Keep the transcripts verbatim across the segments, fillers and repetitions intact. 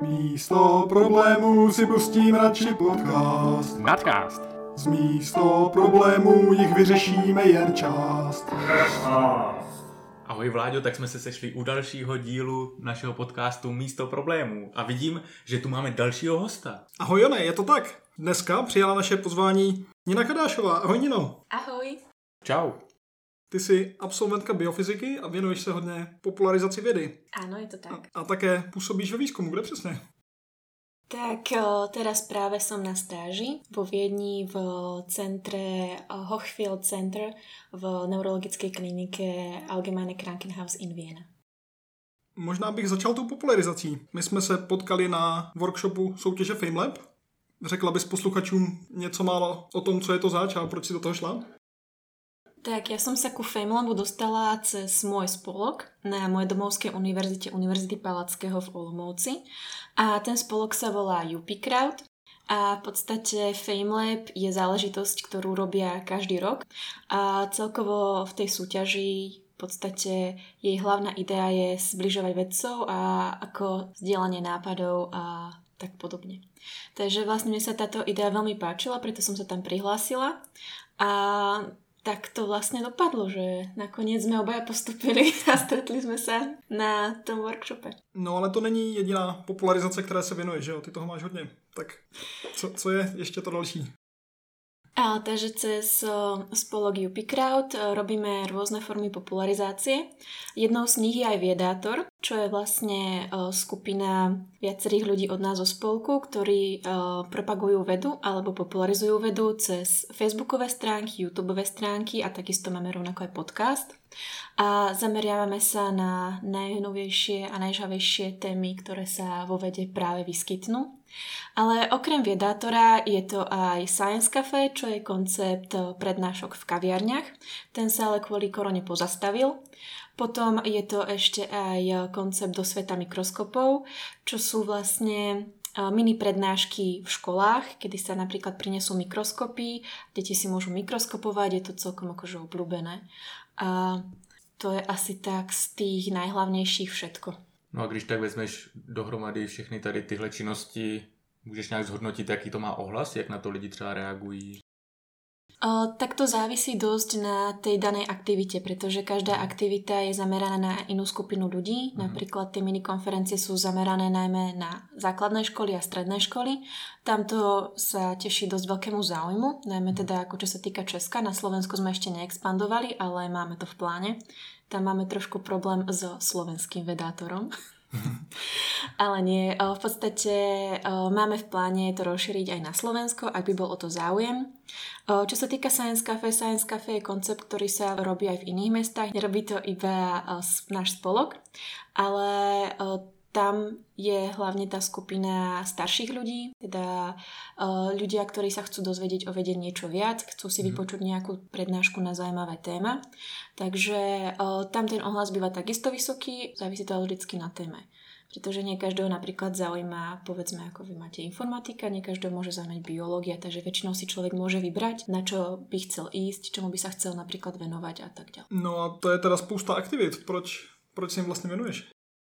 Místo problémů si pustím radši podcast. Nadcast. Z místo problémů jich vyřešíme jen část. Ahoj Vláďo, tak jsme se sešli u dalšího dílu našeho podcastu Místo problémů a vidím, že tu máme dalšího hosta. Ahoj Jone, je to tak. Dneska přijala naše pozvání Nina Kadášová. Ahoj Nino. Ahoj. Čau. Ty jsi absolventka biofyziky a věnuješ se hodně popularizaci vědy. Áno, je to tak. A, a také působíš ve výzkumu, kde přesně? Tak teraz práve som na stáži vo Viedni v centre Hochfield Center v neurologickej klinike Allgemeine Krankenhaus in Vienna. Možná bych začal tou popularizací. My jsme se potkali na workshopu soutěže FameLab. Řekla bys posluchačům něco málo o tom, co je to zač a proč si do toho šla? Tak ja som sa ku FameLabu dostala cez môj spolok na mojej domovskej univerzite Univerzity Palackého v Olomouci a ten spolok sa volá U P Crowd a v podstate FameLab je záležitosť, ktorú robia každý rok a celkovo v tej súťaži v podstate jej hlavná idea je zbližovať vedcov a ako zdieľanie nápadov a tak podobne. Takže vlastne mne sa táto idea veľmi páčila, preto som sa tam prihlásila a tak to vlastne dopadlo, že nakoniec sme obaja postupili a stretli sme sa na tom workshope. No ale to není jediná popularizace, které se věnuje, že jo? Ty toho máš hodně. Tak co, co je ještě to další? A, takže cez o, spolok U P Crowd o, robíme rôzne formy popularizácie. Jednou z nich je aj Viedátor, čo je vlastne o, skupina viacerých ľudí od nás zo spolku, ktorí o, propagujú vedu alebo popularizujú vedu cez facebookové stránky, youtubeové stránky a takisto máme rovnako aj podcast. A zameriavame sa na najnovejšie a najžavejšie témy, ktoré sa vo vede práve vyskytnú. Ale okrem Viedátora je to aj Science Café, čo je koncept prednášok v kaviarniach. Ten sa ale kvôli korone pozastavil. Potom je to ešte aj koncept do sveta mikroskopov, čo sú vlastne mini prednášky v školách, kedy sa napríklad prinesú mikroskopy, deti si môžu mikroskopovať, je to celkom akože obľúbené. A to je asi tak z tých najhlavnejších všetko. No a když tak vezmeš dohromady všechny tady tyhle činnosti, můžeš nějak zhodnotit, jaký to má ohlas, jak na to lidi třeba reagují? O, tak to závisí dosť na tej danej aktivite, pretože každá aktivita je zameraná na inú skupinu ľudí. Mm. Napríklad tie minikonferencie sú zamerané najmä na základné školy a stredné školy. Tamto sa teší dosť veľkému záujmu, najmä teda ako čo sa týka Česka. Na Slovensku sme ešte neexpandovali, ale máme to v pláne. Tam máme trošku problém so slovenským vedátorom. Ale nie, v podstate máme v pláne to rozšíriť aj na Slovensko, ak by bol o to záujem. Čo sa týka Science Café, Science Café je koncept, ktorý sa robí aj v iných mestách. Nerobí to iba náš spolok, ale tam je hlavne tá skupina starších ľudí, teda ľudia, ktorí sa chcú dozvedieť o vede niečo viac, chcú si vypočuť nejakú prednášku na zaujímavé téma. Takže tam ten ohlas býva takisto vysoký, závisí to vždycky na téme. Pretože nie každého napríklad zaujíma, povedzme, ako vy máte informatika, nie každého môže zaujímať biológia, takže väčšinou si človek môže vybrať, na čo by chcel ísť, čomu by sa chcel napríklad venovať a tak ďalej. No a to je teda spousta aktivit. Proč, proč si im vlastne venuješ?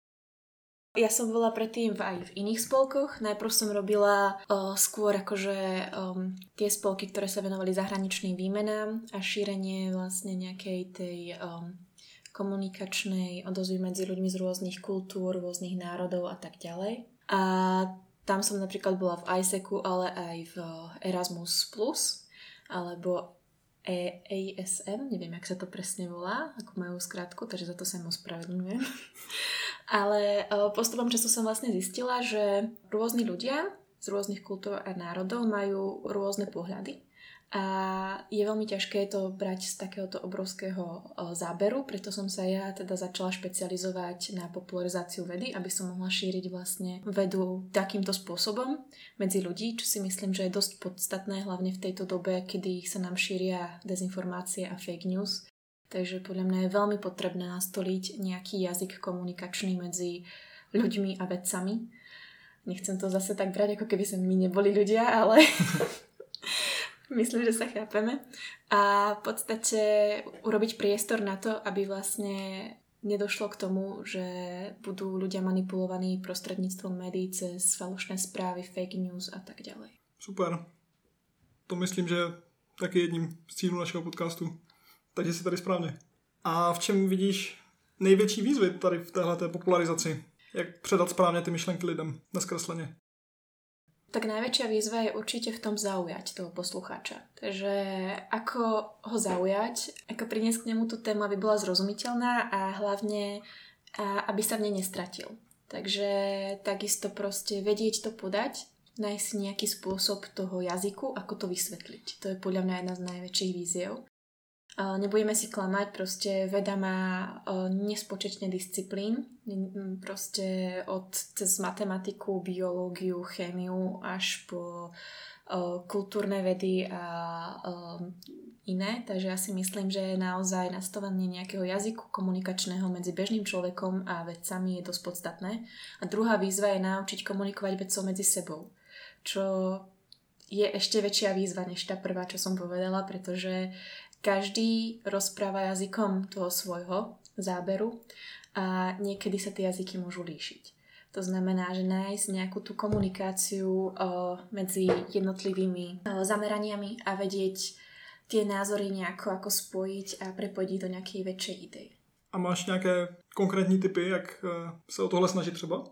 Ja som bola predtým aj v iných spolkoch. Najprv som robila uh, skôr akože um, tie spolky, ktoré sa venovali zahraničným výmenám a šírenie vlastne nejakej tej um, komunikačnej odozvy medzi ľuďmi z rôznych kultúr, rôznych národov a tak ďalej. A tam som napríklad bola v ISECu, ale aj v Erasmus plus, alebo A S M, neviem, jak sa to presne volá, ako majú skratku, takže za to sa im ospravedlňujem. Ale postupom času som vlastne zistila, že rôzni ľudia z rôznych kultúr a národov majú rôzne pohľady a je veľmi ťažké to brať z takéhoto obrovského záberu, preto som sa ja teda začala špecializovať na popularizáciu vedy, aby som mohla šíriť vlastne vedu takýmto spôsobom medzi ľudí, čo si myslím, že je dosť podstatné, hlavne v tejto dobe, kedy sa nám šíria dezinformácie a fake news. Takže podľa mňa je veľmi potrebné nastoliť nejaký jazyk komunikačný medzi ľuďmi a vedcami. Nechcem to zase tak brať, ako keby sme my neboli ľudia, ale myslím, že sa chápeme. A v podstate urobiť priestor na to, aby vlastne nedošlo k tomu, že budú ľudia manipulovaní prostredníctvom médií cez falošné správy, fake news a tak ďalej. Super. To myslím, že taky jedním z cílů našeho podcastu. Takže jsi tady správně. A v čem vidíš největší výzvy tady v téhleté popularizaci? Jak předat správně ty myšlenky lidem neskresleně? Tak najväčšia výzva je určite v tom zaujať toho poslucháča. Takže ako ho zaujať, ako priniesť k nemu tú tému, aby bola zrozumiteľná a hlavne a aby sa v nej nestratil. Takže takisto proste vedieť to podať, nájsť si nejaký spôsob toho jazyku, ako to vysvetliť. To je podľa mňa jedna z najväčších víziev. Nebudeme si klamať, proste veda má nespočetne disciplín, proste od cez matematiku, biológiu, chémiu až po kultúrne vedy a iné, takže ja si myslím, že naozaj nastavenie nejakého jazyku komunikačného medzi bežným človekom a vedcami je dosť podstatné. A druhá výzva je naučiť komunikovať vedcov medzi sebou, čo je ešte väčšia výzva než tá prvá, čo som povedala, pretože každý rozpráva jazykom toho svojho záberu a niekedy sa tie jazyky môžu líšiť. To znamená, že nájsť nejakú tú komunikáciu o, medzi jednotlivými o, zameraniami a vedieť tie názory nejako ako spojiť a prepojiť do nejakej väčšej idei. A máš nejaké konkrétní tipy, jak se o tohle snažit třeba?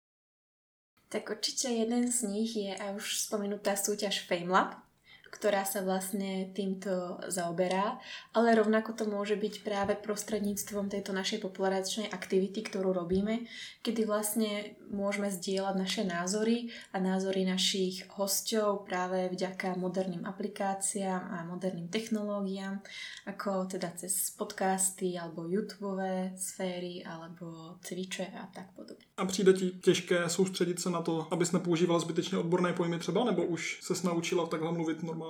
Tak určite jeden z nich je a už spomenutá súťaž FameLab, ktorá sa vlastne týmto zaoberá, ale rovnako to môže byť práve prostredníctvom tejto našej popularizačnej aktivity, ktorú robíme, kedy vlastne môžeme zdieľať naše názory a názory našich hosťov práve vďaka moderným aplikáciám a moderným technológiám, ako teda cez podcasty alebo YouTubeové sféry alebo Twitche a tak podobne. A přijde ti těžké soustředit se na to, abys nepoužívala zbytečně odborné pojmy třeba, nebo už ses naučila takhle mluvit normálně?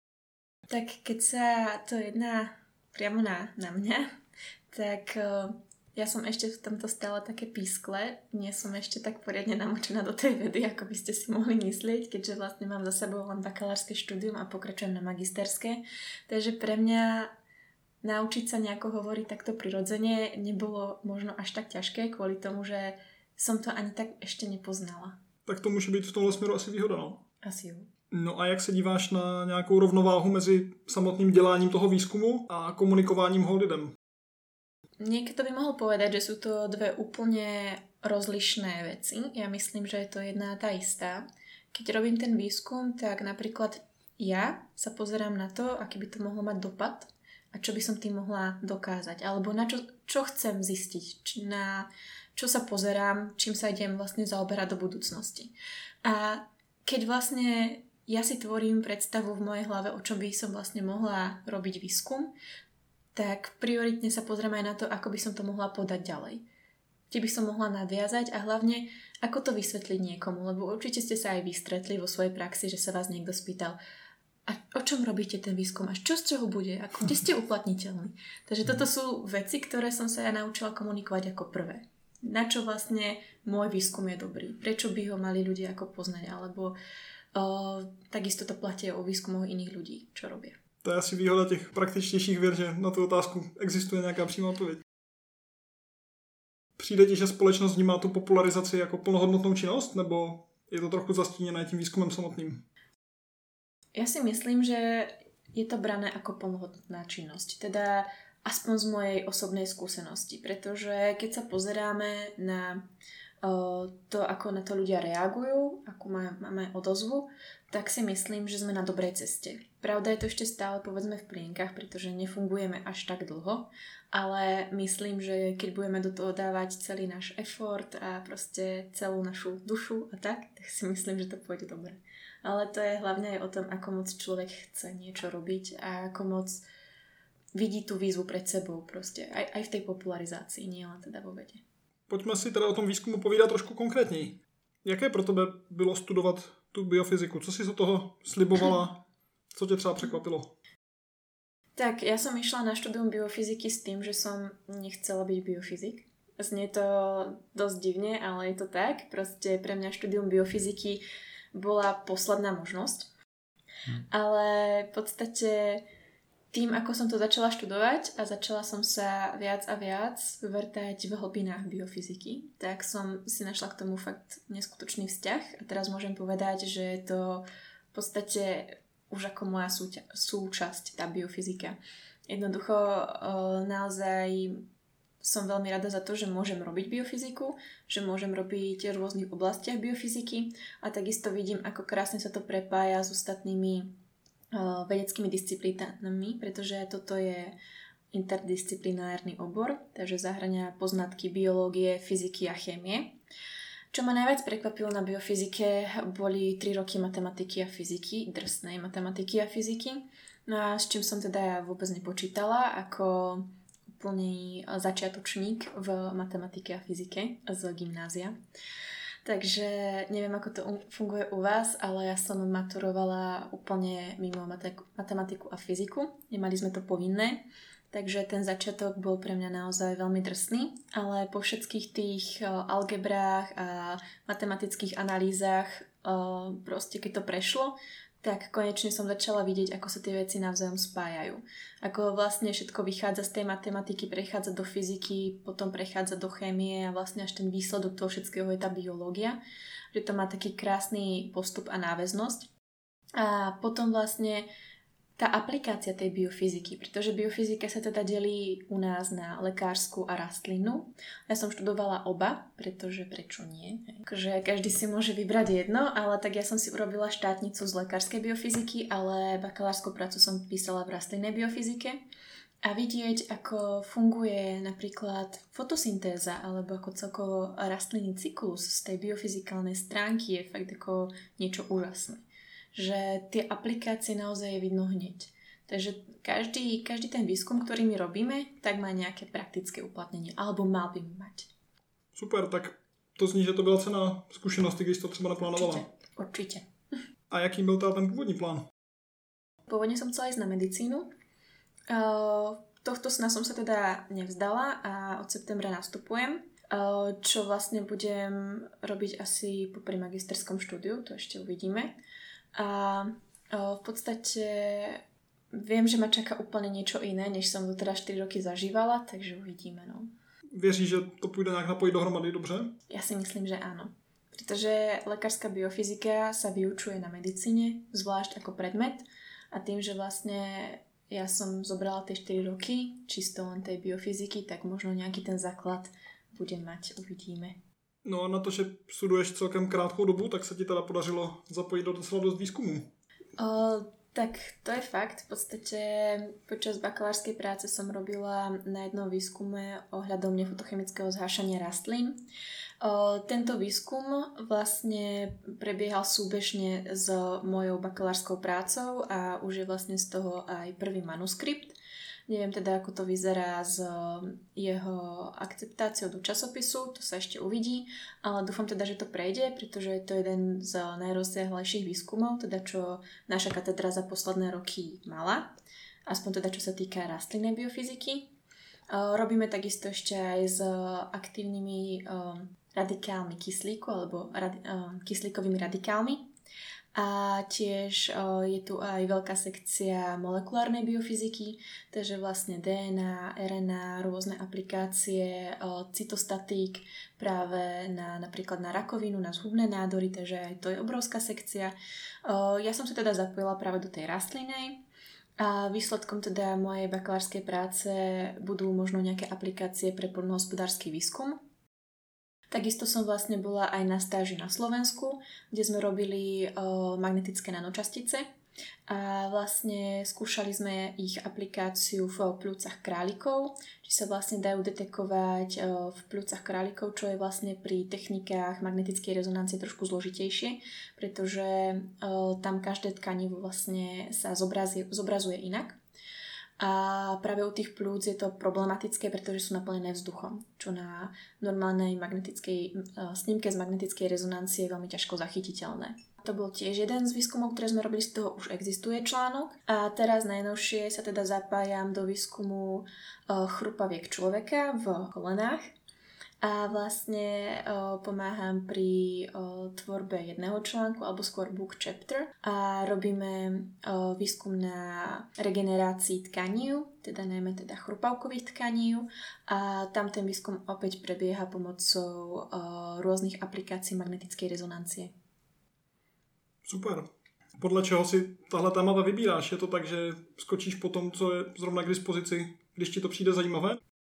Tak keď sa to jedná priamo na, na mňa, tak uh, ja som ešte v tomto stále také pískle. Nie som ešte tak poriadne namočená do tej vedy, ako by ste si mohli myslieť, keďže vlastne mám za sebou len bakalárske štúdium a pokračujem na magisterské. Takže pre mňa naučiť sa nejako hovoriť takto prirodzene nebolo možno až tak ťažké, kvôli tomu, že som to ani tak ešte nepoznala. Tak to může být v tomhle směru asi výhoda, no? Asi jo. No a jak se díváš na nějakou rovnováhu mezi samotným děláním toho výzkumu a komunikováním ho lidem? Niekto by mohol povedať, že sú to dve úplne rozlišné veci. Ja myslím, že je to jedna tá istá. Keď robím ten výskum, tak napríklad ja sa pozerám na to, aký by to mohlo mať dopad a čo by som tým mohla dokázať. Alebo na čo, čo chcem zistiť, či na čo sa pozerám, čím sa idem vlastne zaoberať do budúcnosti. A keď vlastne ja si tvorím predstavu v mojej hlave, o čom by som vlastne mohla robiť výskum, tak prioritne sa pozriem aj na to, ako by som to mohla podať ďalej. Kde by som mohla nadviazať a hlavne, ako to vysvetliť niekomu, lebo určite ste sa aj vystretli vo svojej praxi, že sa vás niekto spýtal, a o čom robíte ten výskum, a čo z čoho bude, ako, kde ste uplatniteľní. Takže toto sú veci, ktoré som sa ja naučila komunikovať ako prvé. Na čo vlastne môj výskum je dobrý, prečo by ho mali ľudia ako poznať, alebo O, takisto to platí o výskumoch iných ľudí, čo robia. To je asi výhoda těch praktičtějších věd, že na tu otázku existuje nějaká přímá odpověď. Přijde ti, že společnost vnímá tu popularizaci jako plnohodnotnou činnost, nebo je to trochu zastíněné tím výzkumem samotným? Ja si myslím, že je to brané ako plnohodnotná činnosť. Teda aspoň z mojej osobnej skúsenosti, pretože keď sa pozeráme na to, ako na to ľudia reagujú, akú máme odozvu, tak si myslím, že sme na dobrej ceste. Pravda je to ešte stále povedzme v plienkach, pretože nefungujeme až tak dlho, ale myslím, že keď budeme do toho dávať celý náš effort a proste celú našu dušu a tak, tak si myslím, že to pôjde dobre. Ale to je hlavne aj o tom, ako moc človek chce niečo robiť a ako moc vidí tú výzvu pred sebou proste, aj, aj v tej popularizácii, nie len teda vo vede. Pojďme si teda o tom výzkumu povídat trošku konkrétněji. Jaké pro tebe bylo studovat tu biofyziku? Co si z toho slibovala? Co tě třeba překvapilo? Tak, ja som išla na štúdium biofyziky s tým, že som nechcela byť biofyzik. Znie to dosť divne, ale je to tak. Proste pre mňa štúdium biofyziky bola posledná možnosť. Hm. Ale v podstate tým, ako som to začala študovať a začala som sa viac a viac vrtať v hlbinách biofyziky, tak som si našla k tomu fakt neskutočný vzťah a teraz môžem povedať, že je to v podstate už ako moja súťa- súčasť, tá biofyzika. Jednoducho naozaj som veľmi rada za to, že môžem robiť biofyziku, že môžem robiť v rôznych oblastiach biofyziky a takisto vidím, ako krásne sa to prepája s ostatnými vedeckými disciplínami, pretože toto je interdisciplinárny obor, takže zahŕňa poznatky biológie, fyziky a chémie. Čo ma najviac prekvapilo na biofyzike, boli tri roky matematiky a fyziky, drsnej matematiky a fyziky, no a s čím som teda ja vôbec nepočítala ako úplný začiatočník v matematike a fyzike z gymnázia. Takže neviem, ako to funguje u vás, ale ja som maturovala úplne mimo matematiku a fyziku. Nemali sme to povinné, takže ten začiatok bol pre mňa naozaj veľmi drsný, ale po všetkých tých algebrách a matematických analýzach, proste keď to prešlo, tak konečne som začala vidieť, ako sa tie veci navzájom spájajú. Ako vlastne všetko vychádza z tej matematiky, prechádza do fyziky, potom prechádza do chémie a vlastne až ten výsledok toho všetkého je tá biológia. Že to má taký krásny postup a náväznosť. A potom vlastne tá aplikácia tej biofyziky, pretože biofyzika sa teda delí u nás na lekársku a rastlinnú. Ja som študovala oba, pretože prečo nie? Takže každý si môže vybrať jedno, ale tak ja som si urobila štátnicu z lekárskej biofyziky, ale bakalárskú prácu som písala v rastlinnej biofyzike. A vidieť, ako funguje napríklad fotosyntéza alebo ako celkovo rastlinný cyklus z tej biofyzikálnej stránky je fakt ako niečo úžasné. Že tie aplikácie naozaj je vidno hneď. Takže každý, každý ten výskum, ktorý my robíme, tak má nejaké praktické uplatnenie. Alebo mal by mať. Super, tak to zní, že to byla cenná zkušenosti, když to třeba naplánovala. Určite, určite. A jaký byl teda ten původní plán? Pôvodne som chcela ísť na medicínu. Uh, tohto sna som sa teda nevzdala a od septembra nastupujem. Uh, čo vlastne budem robiť asi popri magisterskom štúdiu, to ešte uvidíme. A o, v podstate viem, že ma čaká úplne niečo iné, než som to teda štyri roky zažívala, takže uvidíme, no. Věříš, že to půjde nějak napojit dohromady dobře? Ja si myslím, že áno. Pretože lekárska biofyzika sa vyučuje na medicíne, zvlášť ako predmet a tým, že vlastne ja som zobrala tie štyri roky čisto len tej biofyziky, tak možno nejaký ten základ budem mať, uvidíme. No a na to, že studuješ celkem krátkou dobu, tak se ti teda podařilo zapojit do docela dost výzkumu. O, tak to je fakt. V podstate počas bakalárskej práce som robila na jednom výskume ohľadom nefotochemického zhášania rastlín. O, tento výskum vlastne prebiehal súbežne s mojou bakalárskou prácou a už je vlastne z toho aj prvý manuskript. Neviem teda, ako to vyzerá s jeho akceptáciou do časopisu, to sa ešte uvidí, ale dúfam teda, že to prejde, pretože je to jeden z najrozsiahlejších výskumov, teda čo naša katedra za posledné roky mala, aspoň teda čo sa týka rastlinnej biofyziky. Robíme takisto ešte aj s aktívnymi radikálmi kyslíku alebo radi- kyslíkovými radikálmi. A tiež o, je tu aj veľká sekcia molekulárnej biofyziky, takže vlastne dé en á, er en á, rôzne aplikácie, o, cytostatík práve na, napríklad na rakovinu, na zhubné nádory, takže aj to je obrovská sekcia. O, ja som sa teda zapojila práve do tej rastlinej a výsledkom teda mojej bakalárskej práce budú možno nejaké aplikácie pre poľnohospodársky výskum. Takisto som vlastne bola aj na stáži na Slovensku, kde sme robili o, magnetické nanočastice a vlastne skúšali sme ich aplikáciu v pľúcach králikov, či sa vlastne dajú detekovať o, v pľúcach králikov, čo je vlastne pri technikách magnetickej rezonancie trošku zložitejšie, pretože o, tam každé tkanivo vlastne sa zobrazuje, zobrazuje inak. A práve u tých plúc je to problematické, pretože sú naplnené vzduchom, čo na normálnej magnetickej snímke z magnetickej rezonancie je veľmi ťažko zachytiteľné. To bol tiež jeden z výskumov, ktoré sme robili, z toho už existuje článok. A teraz najnovšie sa teda zapájam do výskumu chrupaviek človeka v kolenách. a vlastne o, pomáham pri o, tvorbe jedného článku alebo skôr book chapter a robíme o, výskum na regenerácii tkaní, teda najmä teda chrupavkových tkaní a tam ten výskum opäť prebieha pomocou o, rôznych aplikácií magnetickej rezonancie. Super. Podle čeho si tahle témata vybíráš? Je to tak, že skočíš po tom, co je zrovna k dispozici, když ti to přijde zajímavé?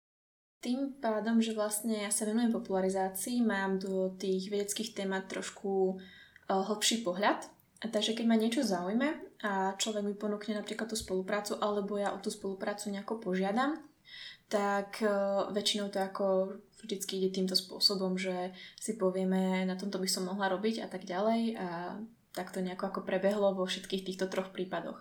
Tým pádom, že vlastne ja sa venujem popularizácii, mám do tých vedeckých témat trošku uh, hlbší pohľad. A takže keď ma niečo zaujme a človek mi ponúkne napríklad tú spoluprácu, alebo ja o tú spoluprácu nejako požiadam, tak uh, väčšinou to ako vždycky ide týmto spôsobom, že si povieme, na tomto by som mohla robiť a tak ďalej a tak to nejako ako prebehlo vo všetkých týchto troch prípadoch.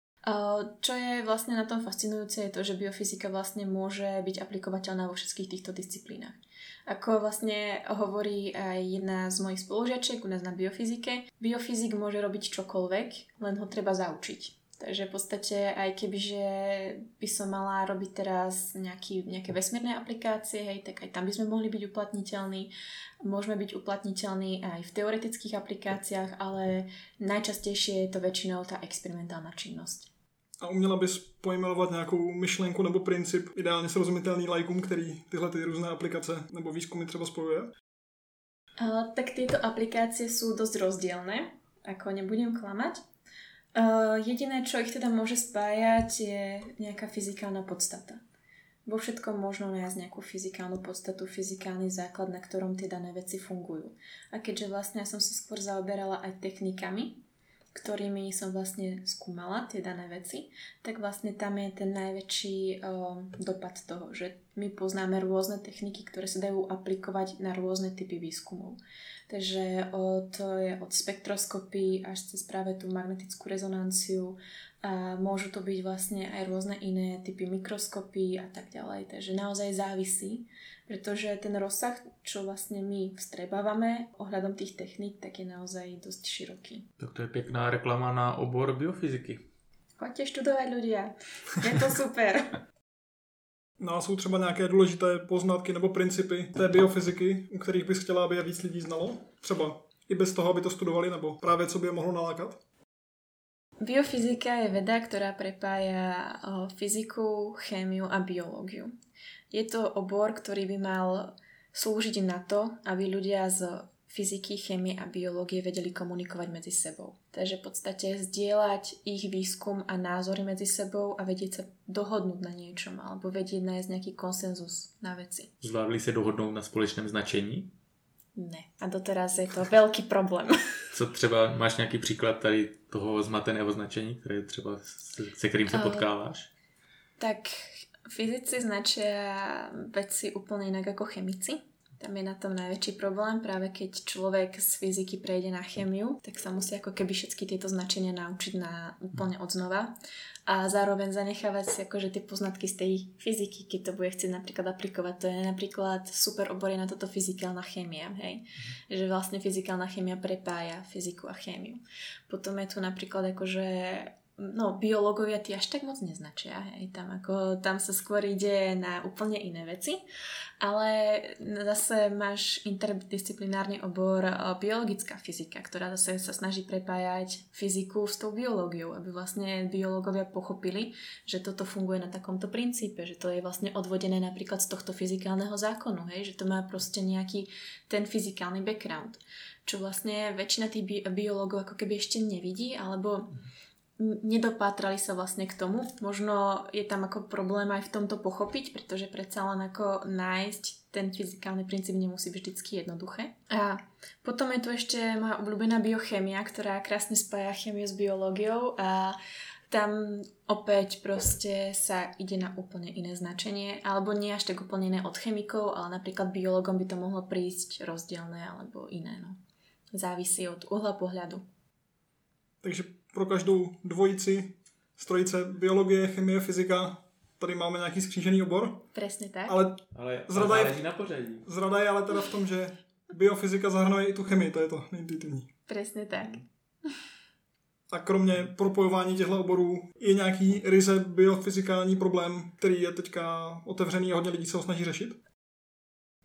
Čo je vlastne na tom fascinujúce je to, že biofyzika vlastne môže byť aplikovateľná vo všetkých týchto disciplínach. Ako vlastne hovorí aj jedna z mojich spolužiačiek u nás na biofyzike, biofyzik môže robiť čokoľvek, len ho treba zaučiť. Takže v podstate aj kebyže by som mala robiť teraz nejaký, nejaké vesmírne aplikácie, hej, tak aj tam by sme mohli byť uplatniteľní. Môžeme byť uplatniteľní aj v teoretických aplikáciách, ale najčastejšie je to väčšinou tá experimentálna činnosť. A uměla bys pojmenovat nějakou myšlenku nebo princip ideálně srozumitelný lajkům, který tyhle ty různé aplikace nebo výzkumy třeba spojuje? Uh, tak tieto aplikácie sú dosť rozdielne, ako nebudem klamať. Uh, jediné, čo ich teda môže spájať, je nejaká fyzikálna podstata. Vo všetkom možno nájsť nejakú fyzikálnu podstatu, fyzikálny základ, na ktorom tie dané veci fungujú. A keďže vlastne ja som sa skôr zaoberala aj technikami, ktorými som vlastne skúmala tie dané veci, tak vlastne tam je ten najväčší uh, dopad toho, že my poznáme rôzne techniky, ktoré sa dajú aplikovať na rôzne typy výskumov. Takže o, to je od spektroskopy až cez práve tú magnetickú rezonanciu a môžu to byť vlastne aj rôzne iné typy mikroskopy a tak ďalej. Takže naozaj závisí, pretože ten rozsah, čo vlastne my vstrebávame ohľadom tých techník, tak je naozaj dosť široký. Tak to je pekná reklama na obor biofyziky. Choďte študovať ľudia, je to super. No a jsou třeba nějaké důležité poznatky nebo principy té biofyziky, u kterých bys chtěla, aby je víc lidí znalo? Třeba i bez toho, aby to studovali, nebo právě co by je mohlo nalákat? Biofyzika je veda, ktorá prepája fyziku, chémiu a biológiu. Je to obor, ktorý by mal slúžiť na to, aby ľudia z fyziky, chémie a biológie vedeli komunikovať medzi sebou. Takže v podstate zdieľať ich výskum a názory medzi sebou a vedieť sa dohodnúť na niečom alebo vedieť nájsť nejaký konsenzus na veci. Zvládli sa dohodnúť na společném značení? Ne. A doteraz je to veľký problém. Co třeba, máš nějaký příklad tady toho zmateného značení, které třeba, se kterým se potkáváš? Uh, tak fyzici značia veci úplne inak ako chemici. Tam je na tom najväčší problém, práve keď človek z fyziky prejde na chémiu, tak sa musí ako keby všetky tieto značenia naučiť na úplne odznova a zároveň zanechávať si akože tie poznatky z tej fyziky, keď to bude chcieť napríklad aplikovať. To je napríklad super obor na toto fyzikálna chémia, hej? Mm. Že vlastne fyzikálna chémia prepája fyziku a chémiu. Potom je tu napríklad akože no, biológovia tí až tak moc neznačia, hej, tam ako, tam sa skôr ide na úplne iné veci, ale zase máš interdisciplinárny obor biologická fyzika, ktorá zase sa snaží prepájať fyziku s tou biológiou, aby vlastne biológovia pochopili, že toto funguje na takomto princípe, že to je vlastne odvodené napríklad z tohto fyzikálneho zákonu, hej, že to má proste nejaký ten fyzikálny background, čo vlastne väčšina tých bi- biológov ako keby ešte nevidí, alebo nedopátrali sa vlastne k tomu. Možno je tam ako problém aj v tomto pochopiť, pretože predsa len ako nájsť ten fyzikálny princíp nemusí byť vždycky jednoduché. A potom je tu ešte moja obľúbená biochémia, ktorá krásne spája chémiu s biológiou a tam opäť proste sa ide na úplne iné značenie, alebo nie až tak úplne iné od chemikov, ale napríklad biológom by to mohlo prísť rozdielne alebo iné. No. Závisí od uhla pohľadu. Takže pro každou dvojici z trojice biologie, chemie, fyzika tady máme nějaký skřížený obor. Presne tak. Ale, ale zrada, je, na pořadí. Zrada je ale teda v tom, že biofyzika zahrnuje i tu chemii, to je to neintuitivní. Presne tak. A kromě propojování těchto oborů je nějaký ryze biofyzikální problém, který je teďka otevřený a hodně lidí se ho snaží řešit?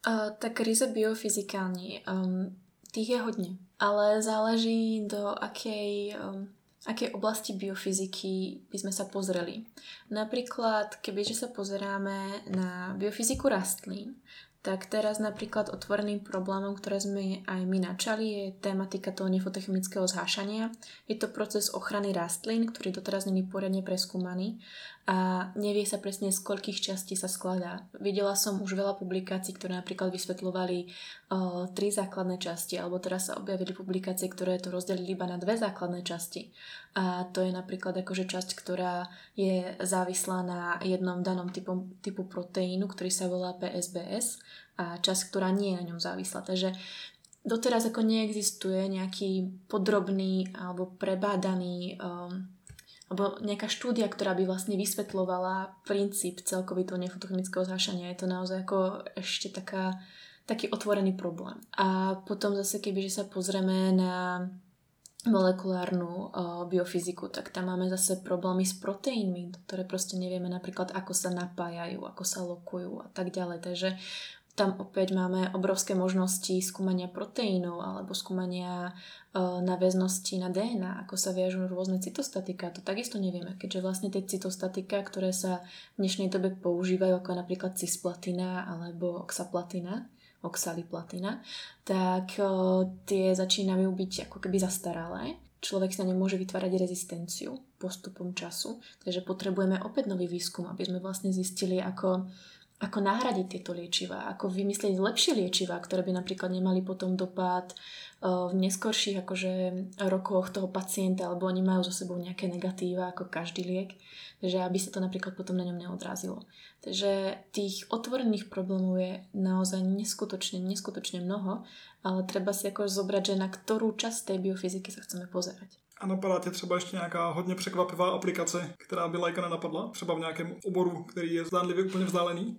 Uh, tak ryze biofyzikálni, um, tých je hodne, ale záleží do akej, um, akej oblasti biofyziky by sme sa pozreli. Napríklad, kebyže sa pozeráme na biofyziku rastlín, tak teraz napríklad otvoreným problémom, ktoré sme aj my načali, je tematika toho nefotochemického zhášania. Je to proces ochrany rastlín, ktorý doteraz není poriadne preskúmaný a nevie sa presne, z koľkých častí sa skladá. Videla som už veľa publikácií, ktoré napríklad vysvetľovali o, tri základné časti, alebo teraz sa objavili publikácie, ktoré to rozdelili iba na dve základné časti. A to je napríklad akože časť, ktorá je závislá na jednom danom typu, typu proteínu, ktorý sa volá P S B S, a časť, ktorá nie je na ňom závislá. Takže doteraz ako neexistuje nejaký podrobný alebo prebádaný um, alebo nejaká štúdia, ktorá by vlastne vysvetľovala princíp celkový toho nefotochemického zhášania. Je to naozaj ako ešte taká, taký otvorený problém. A potom zase, kebyže sa pozrieme na molekulárnu o, biofyziku, tak tam máme zase problémy s proteínmi, ktoré proste nevieme napríklad, ako sa napájajú, ako sa lokujú a tak ďalej. Takže tam opäť máme obrovské možnosti skúmania proteínov alebo skúmania e, naväznosti na dé en á, ako sa viažú rôzne cytostatika. To takisto nevieme, keďže vlastne tie cytostatika, ktoré sa v dnešnej dobe používajú, ako napríklad cisplatina alebo oxaplatina, oxaliplatina, tak o, tie začínajú byť ako keby zastaralé. Človek sa nemôže vytvárať rezistenciu postupom času, takže potrebujeme opäť nový výskum, aby sme vlastne zistili, ako ako nahradiť tieto liečivá, ako vymyslieť lepšie liečivá, ktoré by napríklad nemali potom dopad uh, v neskorších akože rokoch toho pacienta, alebo oni majú so sebou nejaké negatíva ako každý liek, takže aby sa to napríklad potom na ňom neodrazilo. Takže tých otvorených problémov je naozaj neskutočne, neskutočne mnoho, ale treba si ako zobrať, že na ktorú časť tej biofyziky sa chceme pozerať. A napadá tě třeba ještě nějaká hodně překvapivá aplikace, která by lajka nenapadla? Třeba v nějakém oboru, který je zdánlivě úplně vzdálený?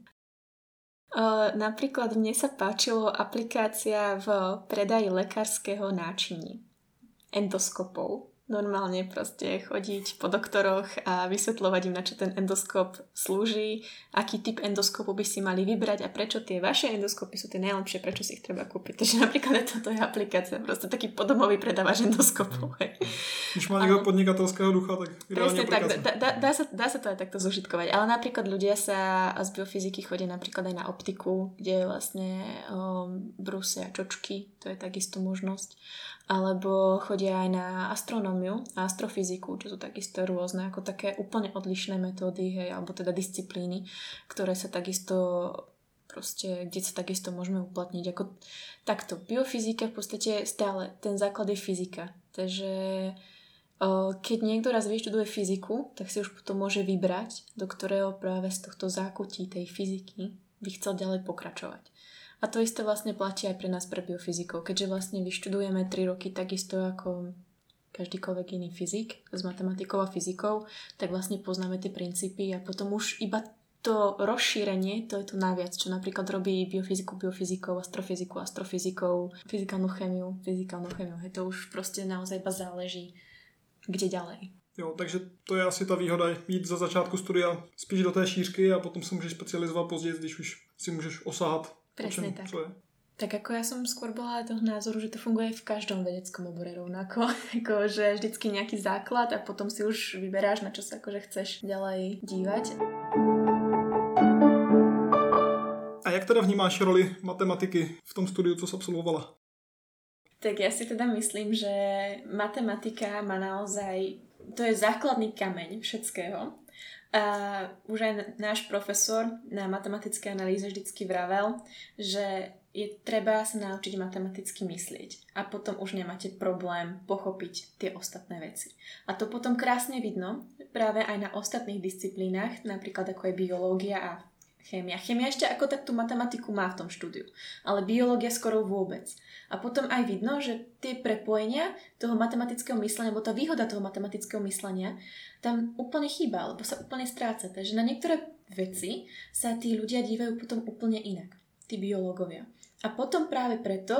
Uh, napríklad mne sa páčilo aplikácia v predaji lekárskeho náčiní. Endoskopov. Normálne proste chodiť po doktoroch a vysvetľovať im, na čo ten endoskop slúži, aký typ endoskopu by si mali vybrať a prečo tie vaše endoskopy sú tie najlepšie, prečo si ich treba kúpiť. Takže napríklad toto je aplikácia, proste taký podomový predávač endoskopov. Když má niekto podnikatelského ducha, tak ideálne Tak, aplikácia. dá, dá, dá, sa, dá sa to aj takto zožitkovať, ale napríklad ľudia sa z biofyziky chodia napríklad aj na optiku, kde vlastne um, brúsia čočky, to je takisto možnosť. Alebo chodia aj na astronómiu a astrofyziku, čo sú takisto rôzne, ako také úplne odlišné metódy, hej, alebo teda disciplíny, ktoré sa takisto proste, kde sa takisto môžeme uplatniť. Ako takto, biofyzika v podstate stále, ten základ je fyzika. Takže o, keď niekto raz vyštuduje fyziku, tak si už potom môže vybrať, do ktorého práve z tohto zákutí tej fyziky by chcel ďalej pokračovať. A to isté vlastne platí aj pre nás, pre biofyzikov, keďže vlastne vyštudujeme tri roky takisto ako každýkoľvek iný fyzik s matematikou a fyzikou, tak vlastne poznáme tie princípy a potom už iba to rozšírenie, to je to naviac, čo napríklad robí biofyziku, biofyzikov, astrofyziku, astrofyzikov, fyzikálnu chemiu, fyzikálnu chemiu. Hej, to už proste naozaj iba záleží, kde ďalej. Jo, takže to je asi ta výhoda, jít za začátku studia spíš do té šířky a potom se můžeš specializovat později, když už si můžeš osahat. Presne čem, tak. Co je. Tak ako ja som skôr bola toho názoru, že to funguje v každom vedeckom obore rovnako. Ako, že vždycky nejaký základ a potom si už vyberáš, na čo sa akože chceš ďalej dívať. A jak teda vnímáš roli matematiky v tom studiu, co jsi absolvovala? Tak ja si teda myslím, že matematika má naozaj, to je základný kameň všetkého. A už aj náš profesor na matematické analýze vždycky vravel, že je treba sa naučiť matematicky myslieť a potom už nemáte problém pochopiť tie ostatné veci. A to potom krásne vidno práve aj na ostatných disciplínach, napríklad ako je biológia a chémia. Chémia ešte ako tak tú matematiku má v tom štúdiu, ale biológia skoro vôbec. A potom aj vidno, že tie prepojenia toho matematického myslenia, alebo tá výhoda toho matematického myslenia tam úplne chýba, alebo sa úplne stráca. Takže na niektoré veci sa tí ľudia dívajú potom úplne inak, tí biológovia. A potom práve preto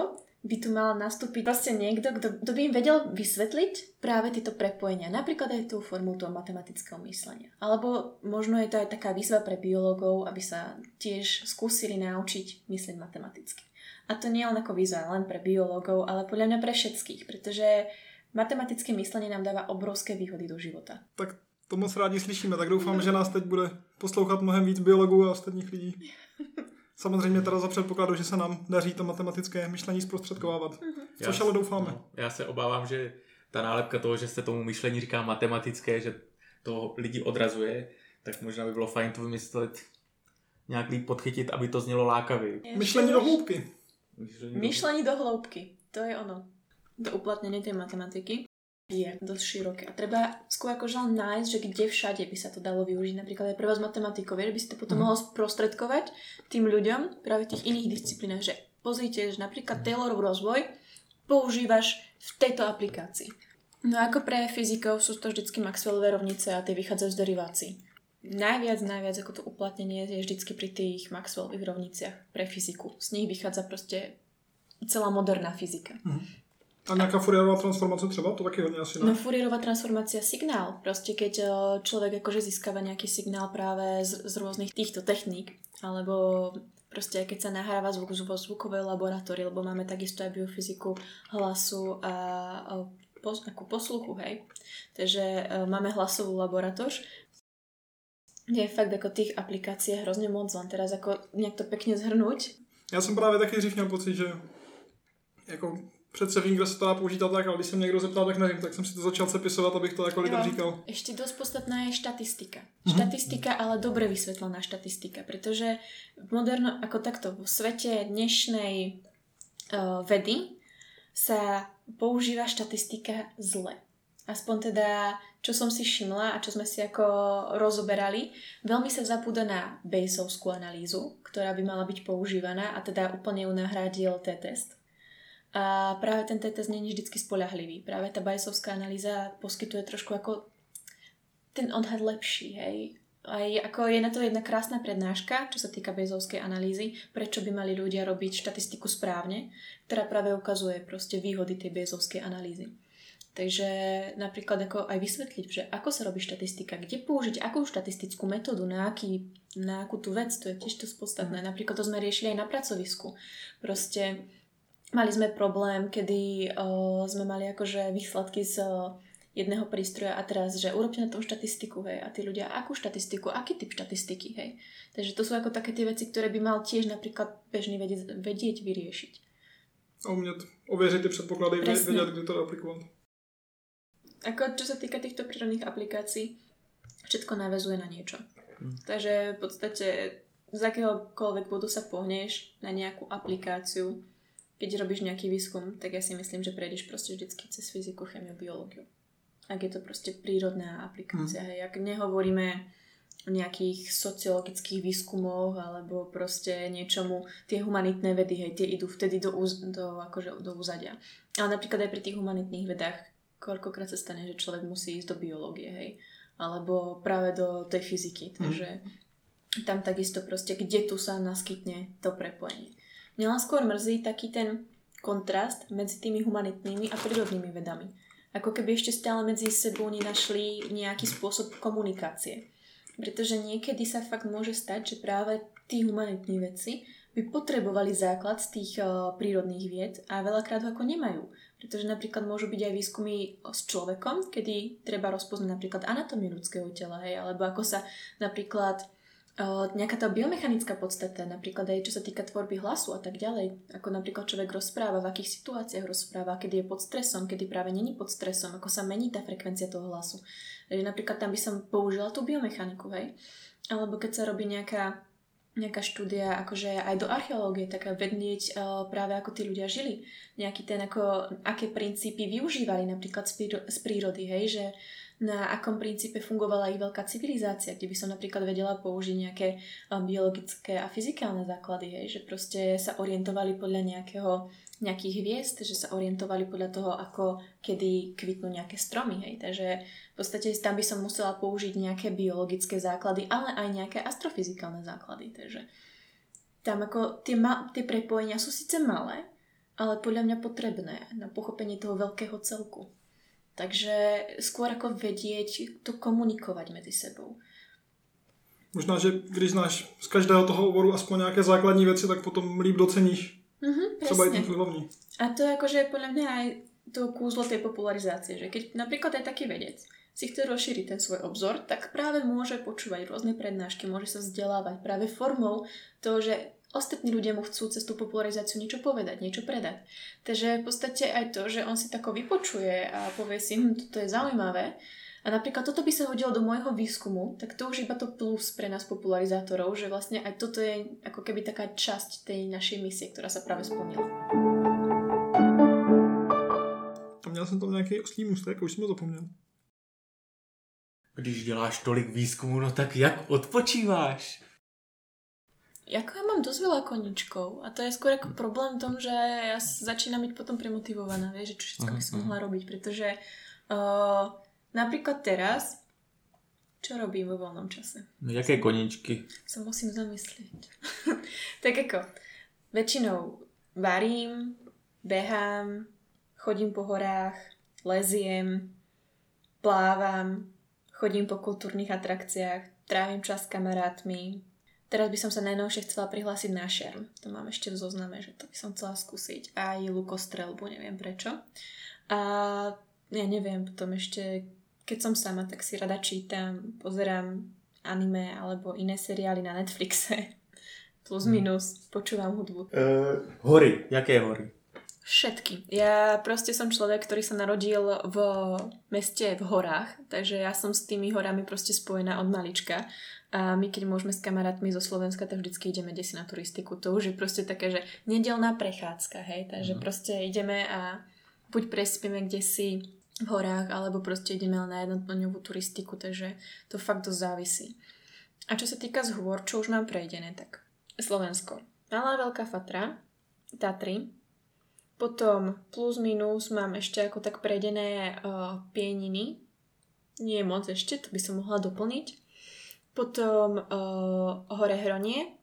by tu mal nastúpiť proste niekto, kto, kto by im vedel vysvetliť práve tieto prepojenia. Napríklad aj tú formu toho matematického myslenia. Alebo možno je to aj taká výzva pre biológov, aby sa tiež skúsili naučiť myslieť matematicky. A to nie len ako výzva len pre biológov, ale podľa mňa pre všetkých, pretože matematické myslenie nám dáva obrovské výhody do života. Tak to moc rádi slyšíme, tak doufám, že nás teď bude poslouchat mnohem víc biologů a ostatních lidí. Samozřejmě teda za předpokladu, že se nám daří to matematické myšlení zprostředkovávat. Mm-hmm. Což ale doufáme. No, já se obávám, že ta nálepka toho, že se tomu myšlení říká matematické, že to lidi odrazuje, tak možná by bylo fajn to vymyslet, nějak líp podchytit, aby to znělo lákavě. Myšlení do hloubky. Myšlení, myšlení do hloubky. To je ono. To uplatnenie tej matematiky je dosť široké. A treba skôr akože len nájsť, že kde všade by sa to dalo využiť. Napríklad aj pre vás matematikou, že by si to potom mm. mohol sprostredkovať tým ľuďom práve v tých iných disciplínach, že pozrite, že napríklad Taylorov rozvoj používaš v tejto aplikácii. No ako pre fyzikov sú to vždycky Maxwellové rovnice a tie vychádzajú z derivácií. Najviac, najviac ako to uplatnenie je vždycky pri tých Maxwellových rovniciach pre fyziku. Z nich vychádza proste celá moderná fyzika. Mm. A nejaká Fourierová transformácia třeba? To taky hodně asi ne? No Fourierová transformácia signál. Proste keď človek akože získava nejaký signál práve z, z rôznych týchto techník, alebo proste keď sa nahráva zvuk vo zvukovej laboratórii, lebo máme takisto aj biofyziku hlasu a, a pos, ako posluchu, hej. Takže máme hlasovú laboratóř, kde je fakt ako tých aplikácií hrozne moc, len teraz ako nejak to pekne zhrnúť. Já jsem právě taky dřív měl pocit, že jako přece vím, kde se to dá použít a tak, ale když se mě někdo zeptal, tak nevím, tak jsem si to začal sepisovat, abych to jako lidem říkal. Ešte dosť podstatná je štatistika. Mm-hmm. Štatistika, ale dobre vysvetlená štatistika, pretože moderno, ako takto, vo svete dnešnej uh, vedy sa používa štatistika zle. Aspoň teda, čo som si všimla a čo sme si ako rozoberali, veľmi sa zabúda na Bayesovskú analýzu, ktorá by mala byť používaná a teda úplne ju nahradil T-test. A práve ten T-test nie je vždycky spoľahlivý. Práve tá Bayesovská analýza poskytuje trošku ako ten odhad lepší, hej. Aj ako je na to jedna krásna prednáška, čo sa týka Bayesovskej analýzy, prečo by mali ľudia robiť štatistiku správne, ktorá práve ukazuje proste výhody tej Bayesovskej analýzy. Takže napríklad ako aj vysvetliť, že ako sa robí štatistika, kde použiť akú štatistickú metódu, na, aký, na akú tú vec, to je tiež to podstatné. Napríklad to sme riešili aj na pracovisku. Proste mali sme problém, kedy o, sme mali akože výsledky z o, jedného prístroja a teraz, že urobte na tom štatistiku, hej, a tí ľudia, akú štatistiku, aký typ štatistiky, hej. Takže to sú ako také tie veci, ktoré by mal tiež napríklad bežný vedieť, vedieť vyriešiť. A umět ověřit ty předpoklady, Presne. Vedieť, kde to aplikovat. Ako čo sa týka týchto prírodných aplikácií, všetko naväzuje na niečo. Hmm. Takže v podstate z akéhokoľvek bodu sa pohneš na nejakú aplikáciu. Keď robíš nejaký výskum, tak ja si myslím, že prejdeš proste vždycky cez fyziku, chemiu, biológiu. Ak je to proste prírodná aplikácia. Hmm. Hej. Ak nehovoríme o nejakých sociologických výskumoch alebo proste niečomu, tie humanitné vedy, hej, tie idú vtedy do, úz, do, akože do úzadia. Ale napríklad aj pri tých humanitných vedách koľkokrát sa stane, že človek musí ísť do biológie, hej, alebo práve do tej fyziky, takže mm. tam takisto proste, kde tu sa naskytne to prepojenie. Mňa len skôr mrzí taký ten kontrast medzi tými humanitnými a prírodnými vedami. Ako keby ešte stále medzi sebou nenašli nejaký spôsob komunikácie. Pretože niekedy sa fakt môže stať, že práve tí humanitní vedci by potrebovali základ z tých uh, prírodných vied a veľakrát ho ako nemajú. Pretože napríklad môžu byť aj výskumy s človekom, kedy treba rozpoznať napríklad anatómiu ľudského tela, hej, alebo ako sa napríklad uh, nejaká tá biomechanická podstata, napríklad aj čo sa týka tvorby hlasu a tak ďalej, ako napríklad človek rozpráva, v akých situáciách rozpráva, kedy je pod stresom, kedy práve není pod stresom, ako sa mení tá frekvencia toho hlasu. Takže napríklad tam by som použila tú biomechaniku, hej. Alebo keď sa robí nejaká nejaká štúdia, akože aj do archeológie, tak vedieť uh, práve ako tí ľudia žili. Nejaký ten, ako, aké princípy využívali napríklad z, príro- z prírody, hej, že na akom princípe fungovala ich veľká civilizácia, kde by som napríklad vedela použiť nejaké uh, biologické a fyzikálne základy, hej, že proste sa orientovali podľa nejakého, nejakých hviezd, že sa orientovali podľa toho, ako kedy kvitnú nejaké stromy, hej, takže v podstate tam by som musela použiť nejaké biologické základy, ale aj nejaké astrofyzikálne základy, takže tam ako tie, ma- tie prepojenia sú síce malé, ale podľa mňa potrebné na pochopenie toho veľkého celku. Takže skôr ako vedieť to komunikovať medzi sebou. Možná, že když znáš z každého toho oboru aspoň nějaké základní věci, tak potom líp doceníš. Mhm, třeba i ten tvůj hlavní. A to je akože podľa mňa aj to kúzlo tej popularizácie, že keď napríklad aj taký vedec si chce rozšíriť ten svoj obzor, tak práve môže počúvať rôzne prednášky, môže sa vzdelávať práve formou toho, že ostatní ľudia mu chcú cez tú popularizáciu niečo povedať, niečo predať. Takže v podstate aj to, že on si tako vypočuje a povie si, hm, toto je zaujímavé, a napríklad toto by sa hodilo do môjho výskumu, tak to už iba to plus pre nás popularizátorov, že vlastne aj toto je ako keby taká časť tej našej misie, ktorá sa práve splnila. A měl jsem tam nějaký oslý můstek, už jsem to zapomněl. Když děláš tolik výzkumu, no tak jak odpočíváš? Jako ja mám dosť veľa koníčkov a to je skôr ako problém v tom, že ja začínam byť potom premotivovaná, vieš, že čo všetko by som mohla robiť, pretože uh, napríklad teraz, čo robím vo voľnom čase? No jaké koníčky? Sa musím zamyslieť. Tak ako, väčšinou varím, behám, chodím po horách, leziem, plávam, chodím po kultúrnych atrakciách, trávim čas s kamarátmi. Teraz by som sa najnovšie chcela prihlásiť na šerm. To mám ešte v zozname, že to by som chcela skúsiť. Aj lukostrelbu, neviem prečo. A ja neviem, potom ešte, keď som sama, tak si rada čítam, pozerám anime alebo iné seriály na Netflixe. Plus minus, počúvam hudbu. Uh, hory. Jaké hory? Všetky. Ja proste som človek, ktorý sa narodil v meste v horách, takže ja som s tými horami proste spojená od malička. A my, keď môžeme s kamarátmi zo Slovenska, tak vždycky ideme desi na turistiku. To už je proste také, že nedeľná prechádzka, hej, takže mm. proste ideme a buď prespíme kdesi v horách, alebo proste ideme na jednodňovú turistiku, takže to fakt dosť závisí. A čo sa týka z hôr, čo už mám prejdené, tak Slovensko. Malá Veľká Fatra, Tatry, potom plus minus mám ešte ako tak prejdené uh, Pieniny. Nie je moc ešte, to by som mohla doplniť. Potom uh, Hore Hronie.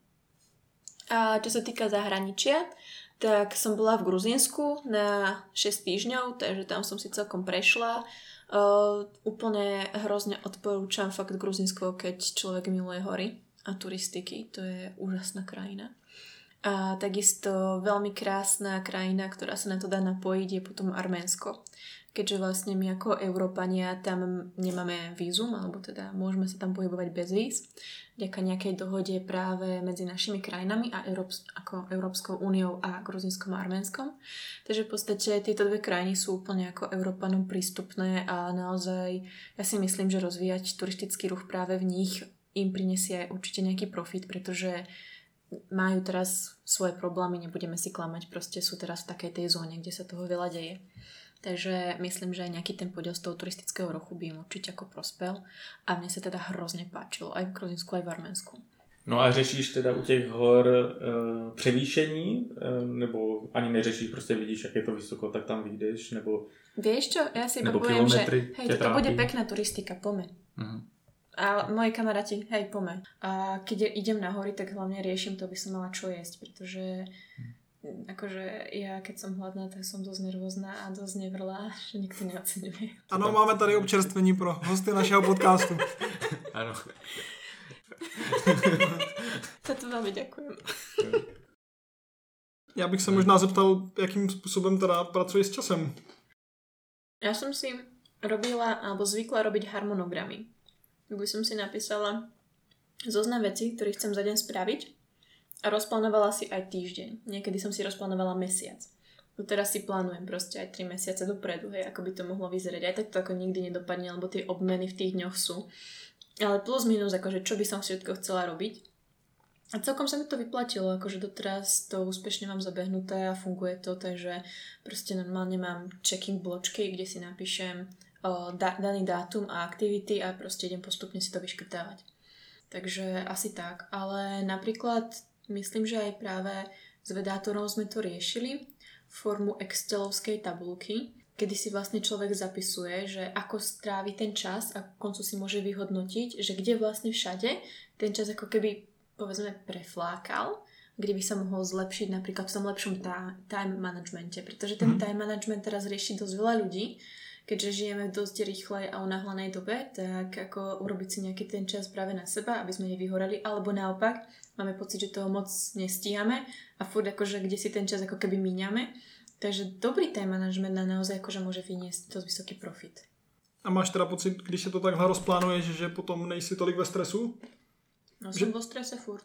A čo sa týka zahraničia, tak som bola v Gruzínsku na šesť týždňov, takže tam som si celkom prešla. Uh, úplne hrozne odporúčam fakt Gruzínsko, keď človek miluje hory a turistiky. To je úžasná krajina. A takisto veľmi krásna krajina, ktorá sa na to dá napojiť, je potom Arménsko. Keďže vlastne my ako Európania tam nemáme vízum, alebo teda môžeme sa tam pohybovať bez víz, vďaka nejakej dohode práve medzi našimi krajinami a Európs- ako Európskou úniou a Gruzínskom a Arménskom. Takže v podstate tieto dve krajiny sú úplne ako Európanom prístupné a naozaj ja si myslím, že rozvíjať turistický ruch práve v nich im prinesie určite nejaký profit, pretože majú teraz svoje problémy, nebudeme si klamať, proste sú teraz v takej tej zóne, kde sa toho veľa deje. Takže myslím, že aj nejaký ten podiel z toho turistického ruchu by im určite ako prospel a mne sa teda hrozne páčilo aj v Gruzínsku, aj v Arménsku. No a řešíš teda u těch hor e, převýšení, e, nebo ani neřešíš, prostě vidíš, jak je to vysoko, tak tam vyjdeš, nebo... Vieš čo, ja si iba poviem, že hej, toto bude pekná turistika, poďme. Uh-huh. A moji kamaráti, hej, poďme. A keď idem na hory, tak hlavne riešim to, aby som mala čo jesť, pretože akože ja, keď som hladná, tak som dosť nervózna a dosť nevrlá, že nikto neoceňuje. Ano, máme tady občerstvení pro hosty našeho podcastu. Ano. Za to veľmi ďakujem. Já bych se možná zeptal, jakým způsobem teda pracuješ s časem. Ja som si robila, alebo zvykla robiť harmonogramy. By som si napísala zoznam vecí, ktoré chcem za deň spraviť a rozplánovala si aj týždeň. Niekedy som si rozplánovala mesiac. No teraz si plánujem proste aj tri mesiace dopredu, hej, ako by to mohlo vyzerať. Aj tak to ako nikdy nedopadne, lebo tie obmeny v tých dňoch sú. Ale plus minus, akože čo by som všetko chcela robiť. A celkom sa mi to vyplatilo, akože doteraz to úspešne mám zabehnuté a funguje to, takže proste normálne mám checking bločky, kde si napíšem o, da, daný dátum a aktivity a proste idem postupne si to vyškrtávať. Takže asi tak. Ale napríklad myslím, že aj práve s vedátorom sme to riešili formu excelovskej tabulky, kedy si vlastne človek zapisuje, že ako strávi ten čas a v koncu si môže vyhodnotiť, že kde vlastne všade ten čas ako keby povedzme preflákal, kde by sa mohol zlepšiť napríklad v tom lepšom ta- time managemente, pretože ten mm. time management teraz rieši dosť veľa ľudí, keďže žijeme v dosť rýchlej a unáhlanej dobe, tak ako urobiť si nejaký ten čas práve na seba, aby sme nevyhorali, alebo naopak, máme pocit, že toho moc nestíhame a furt akože kde si ten čas ako keby míňame. Takže dobrý time management na naozaj akože môže vyniesť dosť vysoký profit. A máš teda pocit, když se to takhle rozplánuješ, že potom nejsi tolik ve stresu? No že... som vo strese furt.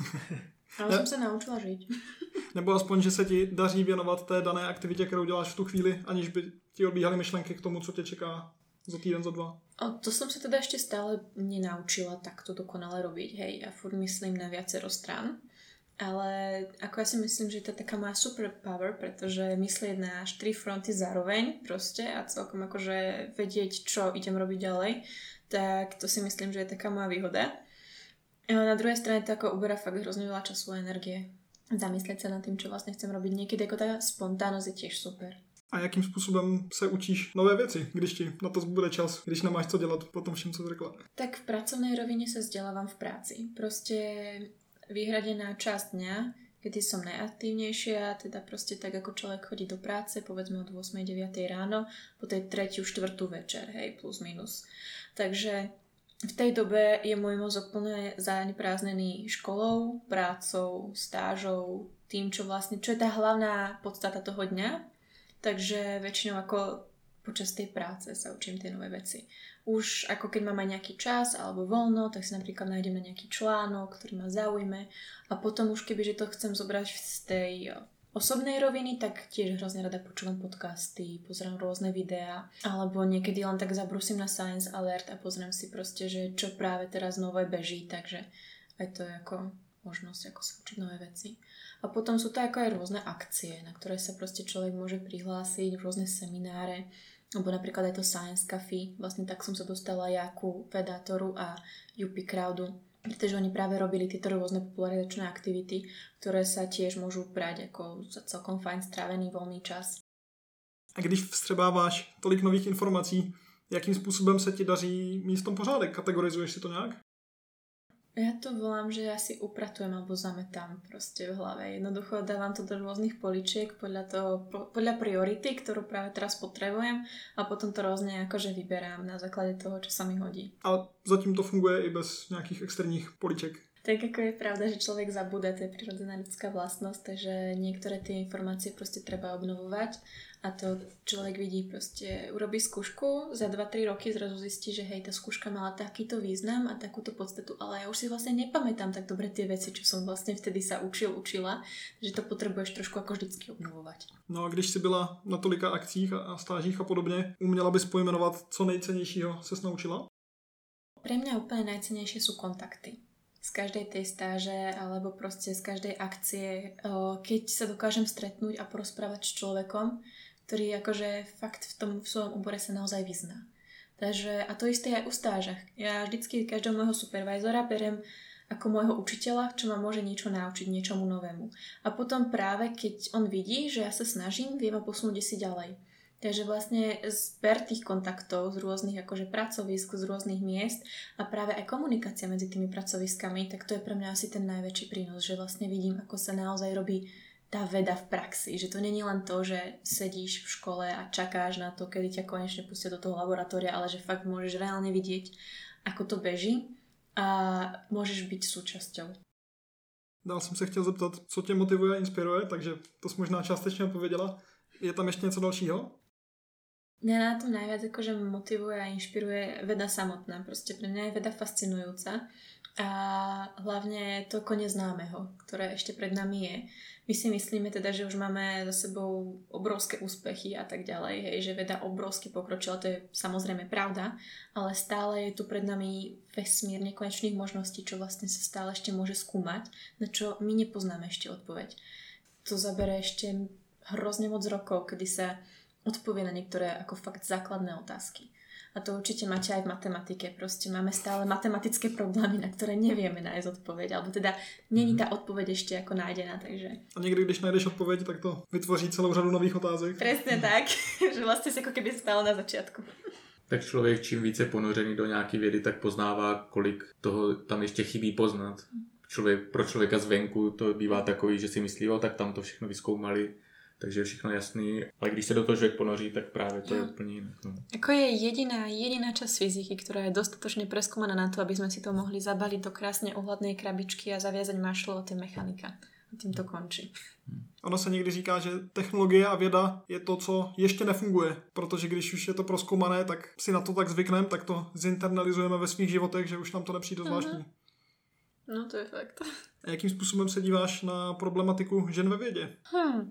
Ale ne... som sa naučila žiť. Nebo aspoň, že se ti daří věnovat té dané aktivitě, kterou děláš v tu chvíli, aniž by ti odbíhaly myšlenky k tomu, co tě čeká za týden, za dva. O, to som sa teda ešte stále nenaučila takto dokonale robiť, hej. Ja furt myslím na viacero strán. Ale ako ja si myslím, že to je taká má superpower, pretože myslieť na štyri fronty zároveň proste a celkom akože vedieť, čo idem robiť ďalej, tak to si myslím, že je taká moja výhoda. Ale na druhej strane to ako uberá fakt hrozne veľa času a energie. Zamyslieť sa nad tým, čo vlastne chcem robiť. Niekedy ako tá spontánnosť je tiež super. A jakým způsobem se učíš nové věci, když ti na to bude čas, když nemáš co dělat po tom všem, co jsi řekla? Tak v pracovnej rovine sa vzdelávam v práci. Proste vyhradená časť dňa, kedy som najaktívnejšia, teda proste tak, ako človek chodí do práce, povedzme od ôsmej deviatej ráno, po tej tretiu, štvrtú večer, hej, plus minus. Takže v tej dobe je môj mozog plne zaneprázdnený školou, prácou, stážou, tým, čo vlastne, čo je tá hlavná podstata toho dňa. Takže väčšinou ako počas tej práce sa učím tie nové veci. Už ako keď mám aj nejaký čas alebo voľno, tak si napríklad nájdem na nejaký článok, ktorý ma zaujme a potom už kebyže to chcem zobrať z tej osobnej roviny, tak tiež hrozne rada počúvam podcasty, pozerám rôzne videá alebo niekedy len tak zabrusím na Science Alert a pozriem si proste, že čo práve teraz nové beží, takže aj to je ako možnosť ako sa učiť nové veci. A potom sú to ako aj rôzne akcie, na ktoré sa proste človek môže prihlásiť, rôzne semináre, alebo napríklad aj to Science Café. Vlastne tak som sa dostala ja ku Vedátoru a U P Crowdu, pretože oni práve robili tieto rôzne popularizačné aktivity, ktoré sa tiež môžu brať ako za celkom fajn strávený voľný čas. A když vstřebáváš tolik nových informací, jakým způsobem se ti daří mít v tom pořádek? Kategorizuješ si to nějak? Ja to volám, že ja si upratujem alebo zametám proste v hlave. Jednoducho dávam to do rôznych poličiek podľa, toho, podľa priority, ktorú práve teraz potrebujem a potom to rôzne akože vyberám na základe toho, čo sa mi hodí. Ale zatím to funguje i bez nejakých externích poliček. Tak ako je pravda, že človek zabúda, to je prirodzená ľudská vlastnosť, takže niektoré tie informácie proste treba obnovovať a to človek vidí proste, urobí skúšku, za dva tri roky zrazu zistí, že hej, tá skúška mala takýto význam a takúto podstatu, ale ja už si vlastne nepamätám tak dobre tie veci, čo som vlastne vtedy sa učil, učila, že to potrebuješ trošku ako vždycky obnovovať. No a když si byla na tolika akcích a stážích a podobne, uměla bys pojmenovat, co nejcennějšího ses naučila? Pre mňa úplne najcennejšie sú kontakty. Z každej tej stáže alebo proste z každej akcie, keď sa dokážem stretnúť a porozprávať s človekom, ktorý akože fakt v tom v svojom obore sa naozaj vyzná. Takže, a to isté aj u stážach. Ja vždycky každého môjho supervizora berem ako môjho učiteľa, čo ma môže niečo naučiť, niečomu novému. A potom práve keď on vidí, že ja sa snažím, vie ma posunúť si ďalej. Takže vlastne zber tých kontaktov z rôznych akože pracovisk, z rôznych miest a práve aj komunikácia medzi tými pracoviskami, tak to je pre mňa asi ten najväčší prínos, že vlastne vidím, ako sa naozaj robí tá veda v praxi. Že to nie je len to, že sedíš v škole a čakáš na to, kedy ťa konečne pustia do toho laboratória, ale že fakt môžeš reálne vidieť, ako to beží a môžeš byť súčasťou. Dál jsem se chtěl zeptat, co tě motivuje a inspiruje, takže to jsi možná částečně odpověděla. Je tam ještě něco dalšího? Mňa na tom najviac akože motivuje a inšpiruje veda samotná. Proste pre mňa je veda fascinujúca a hlavne to neznámeho, ktoré ešte pred nami je. My si myslíme teda, že už máme za sebou obrovské úspechy a tak ďalej, hej, že veda obrovsky pokročila, to je samozrejme pravda, ale stále je tu pred nami vesmír nekonečných možností, čo vlastne sa stále ešte môže skúmať, na čo my nepoznáme ešte odpoveď. To zabere ešte hrozne moc rokov, kedy sa odpovie na niektoré ako fakt základné otázky. A to určite máte aj v matematike. Proste máme stále matematické problémy, na ktoré nevieme nájsť odpoveď. Alebo teda není tá odpoveď ešte ako nájdená, takže... A niekdy, když najdeš odpoveď, tak to vytvoří celou řadu nových otázek. Presne tak, že vlastne si ako keby stalo na začiatku. Tak člověk čím více ponořený do nějaký vědy, tak poznává, kolik toho tam ještě chybí poznat. člověk, pro člověka zvenku to bývá takový, že si myslí, o, tak tam to všechno vyskoumali, takže je všechno jasný, ale když se do toho člověk ponoří, tak právě to je úplně jinak. No. Ako je jediná, jediná časť fyziky, ktorá je dostatočne preskúmaná na to, aby sme si to mohli zabaliť do krásne uhladnej krabičky a zaviazať mašlo, to je mechanika. A tím to končí. Ono se někdy říká, že technologie a věda je to, co ještě nefunguje, protože když už je to prozkoumané, tak si na to tak zvykneme, tak to zinternalizujeme ve svých životech, že už nám to nepřijde zvláštní. No to je fakt. A jakým způsobem se díváš na problematiku žen ve vědě? Hmm.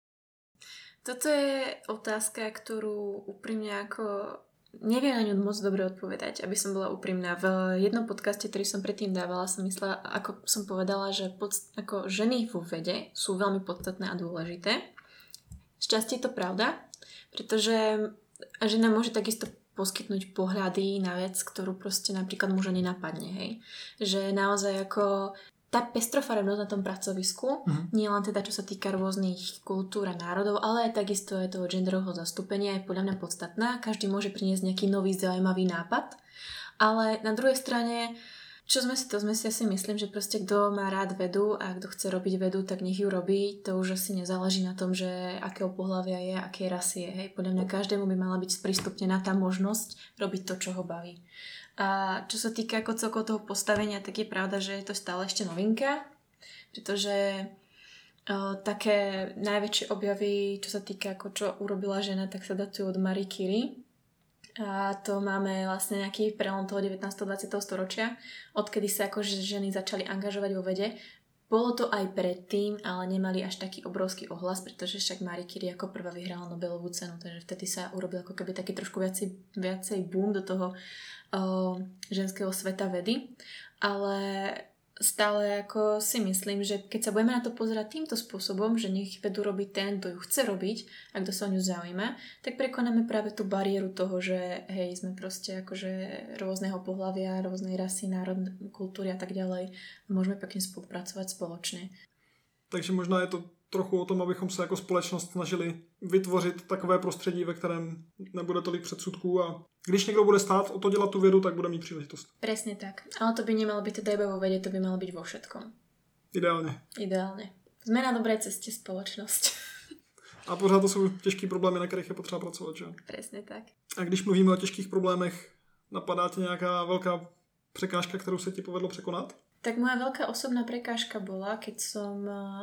Toto je otázka, ktorú úprimne ako neviem na ňu moc dobre odpovedať, aby som bola úprimná. V jednom podcaste, ktorý som predtým dávala, som myslela, ako som povedala, že pod, ako ženy vo vede sú veľmi podstatné a dôležité. Šťastie je to pravda, pretože žena môže takisto poskytnúť pohľady na vec, ktorú proste napríklad muža nenapadne, hej. Že naozaj ako tá pestrofarebnosť na tom pracovisku, mm-hmm. nie len teda čo sa týka rôznych kultúr a národov, ale aj takisto je toho genderového zastúpenia je podľa mňa podstatná. Každý môže priniesť nejaký nový zaujímavý nápad, ale na druhej strane, čo sme si to, sme si asi myslím, že proste kto má rád vedu a kto chce robiť vedu, tak nech ju robí. To už asi nezáleží na tom, že akého pohlavia je, akej rasy je. Hej. Podľa mňa každému by mala byť sprístupnená tá možnosť robiť to, čo ho baví. A čo sa týka ako celkovo toho postavenia, tak je pravda, že je to stále ešte novinka, pretože o, také najväčšie objavy, čo sa týka ako čo urobila žena, tak sa datujú od Marie Curie. A to máme vlastne nejaký prelom toho devätnásteho dvadsiateho storočia, odkedy sa ako ženy začali angažovať vo vede. Bolo to aj predtým, ale nemali až taký obrovský ohlas, pretože však Marie Curie ako prvá vyhrala Nobelovú cenu, takže vtedy sa urobil ako keby taký trošku viacej, viacej boom do toho o, ženského sveta vedy. Ale stále ako si myslím, že keď sa budeme na to pozerať týmto spôsobom, že nech vedu robiť ten, kto ju chce robiť a kto sa o ňu zaujíma, tak prekonáme práve tú bariéru toho, že hej, sme proste akože rôzneho pohlavia, rôznej rasy, národ, kultúry a tak ďalej. Môžeme pekne spolupracovať spoločne. Takže možná je to trochu o tom, abychom se jako společnost snažili vytvořit takové prostředí, ve kterém nebude tolik předsudků a když někdo bude stát o to dělat tu vědu, tak bude mít příležitost. Presne tak. Ale to by nemalo byť teda iba vo vede, to by malo byť vo všetkom. Ideálně. Ideálne. Sme na dobrej ceste spoločnosť. A pořád to jsou těžké problémy, na kterých je potřeba pracovat, že? Presne tak. A když mluvíme o těžkých problémech, napadá ti nějaká velká překážka, kterou se ti povedlo překonat? Tak moja veľká osobná prekážka bola, keď som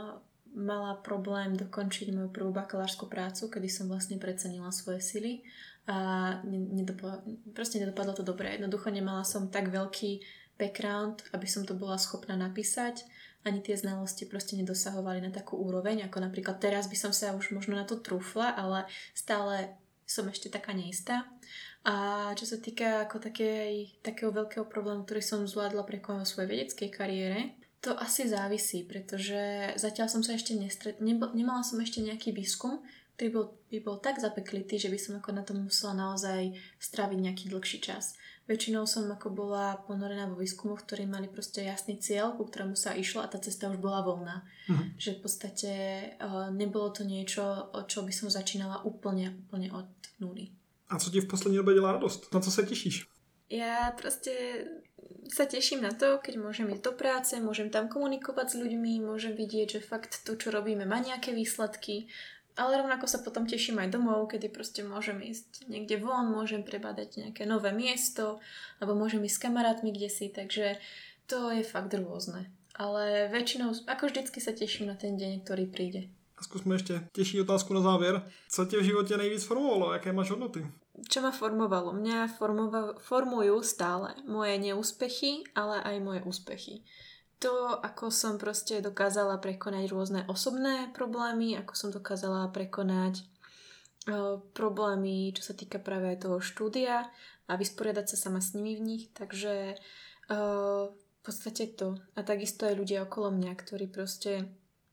mala problém dokončiť moju prvú bakalárskú prácu, kedy som vlastne precenila svoje sily a nedopadlo, proste nedopadlo to dobre. Jednoducho nemala som tak veľký background, aby som to bola schopná napísať. Ani tie znalosti proste nedosahovali na takú úroveň, ako napríklad teraz by som sa už možno na to trúfla, ale stále som ešte taká neistá. A čo sa týka ako takej, takého veľkého problému, ktorý som zvládla prekonať vo svojej vedeckej kariére, to asi závisí, pretože zatiaľ som sa ešte nestret... Nebo, nemala som ešte nejaký výskum, ktorý bol, by bol tak zapeklitý, že by som ako na tom musela naozaj stráviť nejaký dlhší čas. Väčšinou som ako bola ponorená vo výskumoch, ktorí mali proste jasný cieľ, ku ktorému sa išlo a tá cesta už bola voľná. Mhm. Že v podstate uh, nebolo to niečo, od čo by som začínala úplne, úplne od nuly. A co ti v poslední době dělá radost? Na co se těšíš? Ja proste sa teším na to, keď môžem ísť do práce, môžem tam komunikovať s ľuďmi, môžem vidieť, že fakt to, čo robíme, má nejaké výsledky, ale rovnako sa potom teším aj domov, kedy proste môžem ísť niekde von, môžem prebadať nejaké nové miesto, alebo môžem ísť s kamarátmi kdesi, takže to je fakt rôzne. Ale väčšinou, ako vždycky sa teším na ten deň, ktorý príde. A zkusme ještě těžší otázku na závěr. Co tě v životě nejvíc formovalo? Jaké máš hodnoty? Čo ma formovalo? Mňa formova- formujú stále moje neúspechy, ale aj moje úspechy. To, ako som proste dokázala prekonať rôzne osobné problémy, ako som dokázala prekonať uh, problémy, čo sa týka práve toho štúdia a vysporiadať sa sama s nimi v nich. Takže uh, v podstate to. A takisto aj ľudia okolo mňa, ktorí proste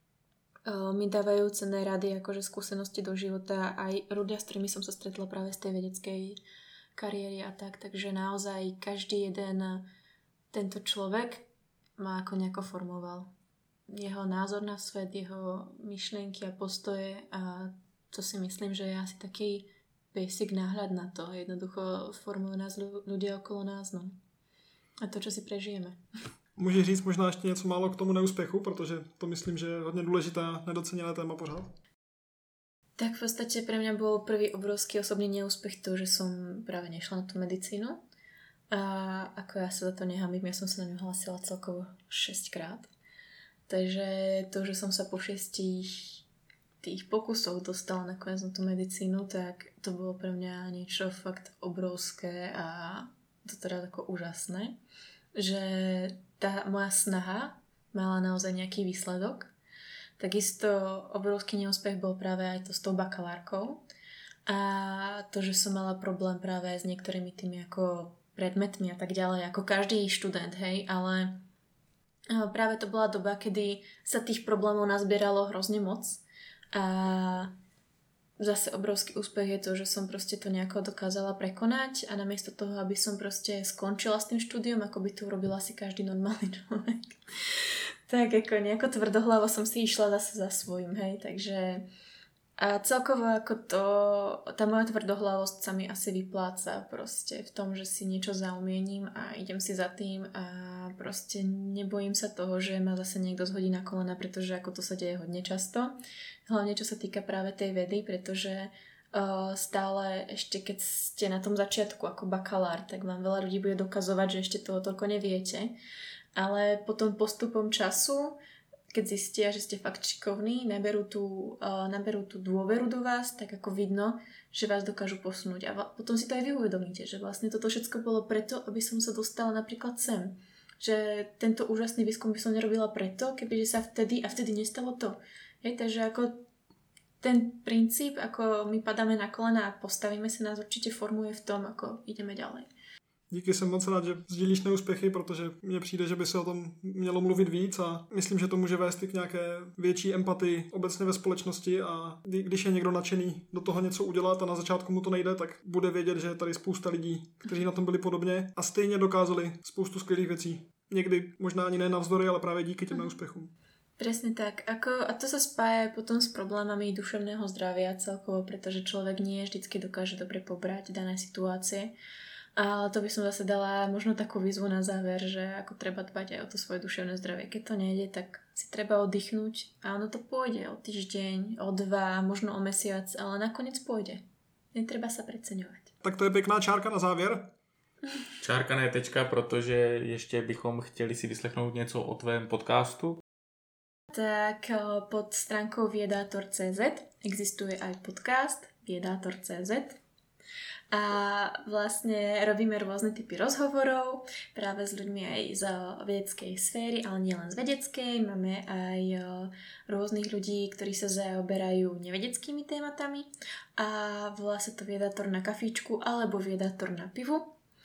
mi dávajú cenné rady, akože skúsenosti do života, aj ľudia, s ktorými som sa stretla práve z tej vedeckej kariéry a tak, takže naozaj každý jeden tento človek ma ako nejako formoval. Jeho názor na svet, jeho myšlienky a postoje a to si myslím, že je asi taký basic náhľad na to. Jednoducho formujú nás ľudia okolo nás, no. A to, čo si prežijeme. Můžeš říct možná ještě něco málo k tomu neúspěchu, protože to myslím, že je hodně důležité a nedoceněné téma pořád. Tak v podstate pre mňa bol prvý obrovský osobný neúspech to, že som práve nešla na tú medicínu. A ako ja sa za to nehambím, ja som sa na ňu hlasila celkovo šesťkrát. Takže to, že som sa po šestich tých pokusoch dostala nakoniec na tú medicínu, tak to bolo pre mňa niečo fakt obrovské a to teda tako úžasné, že tá moja snaha mala naozaj nejaký výsledok. Takisto obrovský neúspech bol práve aj to s tou bakalárkou a to, že som mala problém práve s niektorými tými ako predmetmi a tak ďalej, ako každý študent, hej, ale práve to bola doba, kedy sa tých problémov nazbieralo hrozne moc a zase obrovský úspech je to, že som proste to nejako dokázala prekonať a namiesto toho, aby som proste skončila s tým štúdiom, ako by to urobil asi každý normálny človek, tak ako nejako tvrdohlavo som si išla zase za svojím, hej, takže a celkovo ako to, tá moja tvrdohlavosť sa mi asi vypláca proste v tom, že si niečo zaumiením a idem si za tým a proste nebojím sa toho, že ma zase niekto zhodí na kolena, pretože ako to sa deje hodne často, hlavne čo sa týka práve tej vedy, pretože uh, stále ešte keď ste na tom začiatku ako bakalár, tak vám veľa ľudí bude dokazovať, že ešte toho toľko neviete. Ale potom postupom času, keď zistia, že ste fakt šikovní, naberú tú, uh, naberú tú dôveru do vás, tak ako vidno, že vás dokážu posunúť. A va- potom si to aj vy uvedomíte, že vlastne toto všetko bolo preto, aby som sa dostala napríklad sem. Že tento úžasný výskum by som nerobila preto, kebyže sa vtedy a vtedy nestalo to. Hej, takže ako ten princíp, ako my padáme na kolena a postavíme sa, nás určite formuje v tom, ako ideme ďalej. Díky, jsem moc rád, že sdílíš neúspěchy, protože mně přijde, že by se o tom mělo mluvit víc a myslím, že to může vést i k nějaké větší empatii obecně ve společnosti a když je někdo nadšený do toho něco udělat a na začátku mu to nejde, tak bude vědět, že je tady spousta lidí, kteří na tom byli podobně a stejně dokázali spoustu skvělých věcí. Někdy možná ani ne navzdory, ale právě díky těm neúspěchům. Presne tak. Ako, a to sa spája potom s problémami duševného zdravia celkovo, pretože človek nie vždycky dokáže dobre pobrať dané situácie. Ale to by som zase dala možno takú výzvu na záver, že ako treba dbať aj o to svoje duševné zdravie. Keď to nejde, tak si treba oddychnúť a ono to pôjde o týždeň, o dva, možno o mesiac, ale nakoniec pôjde. Netreba sa preceňovať. Tak to je pěkná čárka na závěr. Čárka ne tečka, protože ještě bychom chtěli si vyslechnout něco o tvém podcastu. Tak pod stránkou Viedátor bodka cé zet existuje aj podcast Viedátor bodka cé zet a vlastne robíme rôzne typy rozhovorov práve s ľuďmi aj z vedeckej sféry, ale nie len z vedeckej. Máme aj rôznych ľudí, ktorí sa zaoberajú nevedeckými tématami a volá sa to Viedátor na kafíčku alebo Viedátor na pivu.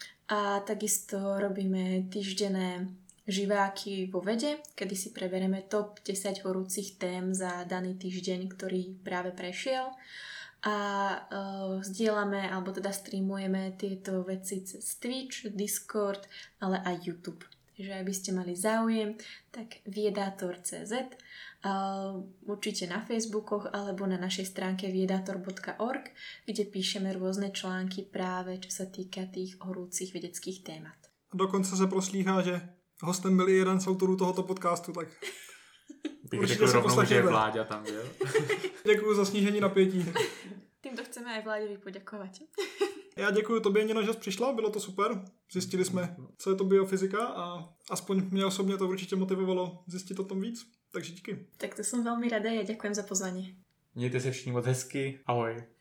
A takisto robíme týždenné živáky vo vede, kedy si preberieme top desať horúcich tém za daný týždeň, ktorý práve prešiel a uh, zdieľame alebo teda streamujeme tieto veci cez Twitch, Discord, ale aj YouTube. Takže ak by ste mali záujem, tak Viedátor bodka cé zet, uh, určite na Facebookoch alebo na našej stránke viedator bodka org, kde píšeme rôzne články práve čo sa týka tých horúcich vedeckých témat. Dokonce se proslýchá, že hostem byl i jeden z autorů tohoto podcastu, tak bych řekl rovnou, že Vláďa tam byl. Děkuji za snížení napětí. Týmto chceme aj Vláďovi poďakovať. Já děkuji tobě, Nino, že jsi přišla, bylo to super. Zjistili jsme, co je to biofyzika a aspoň mě osobně to určitě motivovalo zjistit o tom víc. Takže díky. Tak to som veľmi rada a ja ďakujem za pozvanie. Mějte se všichni moc hezky. Ahoj.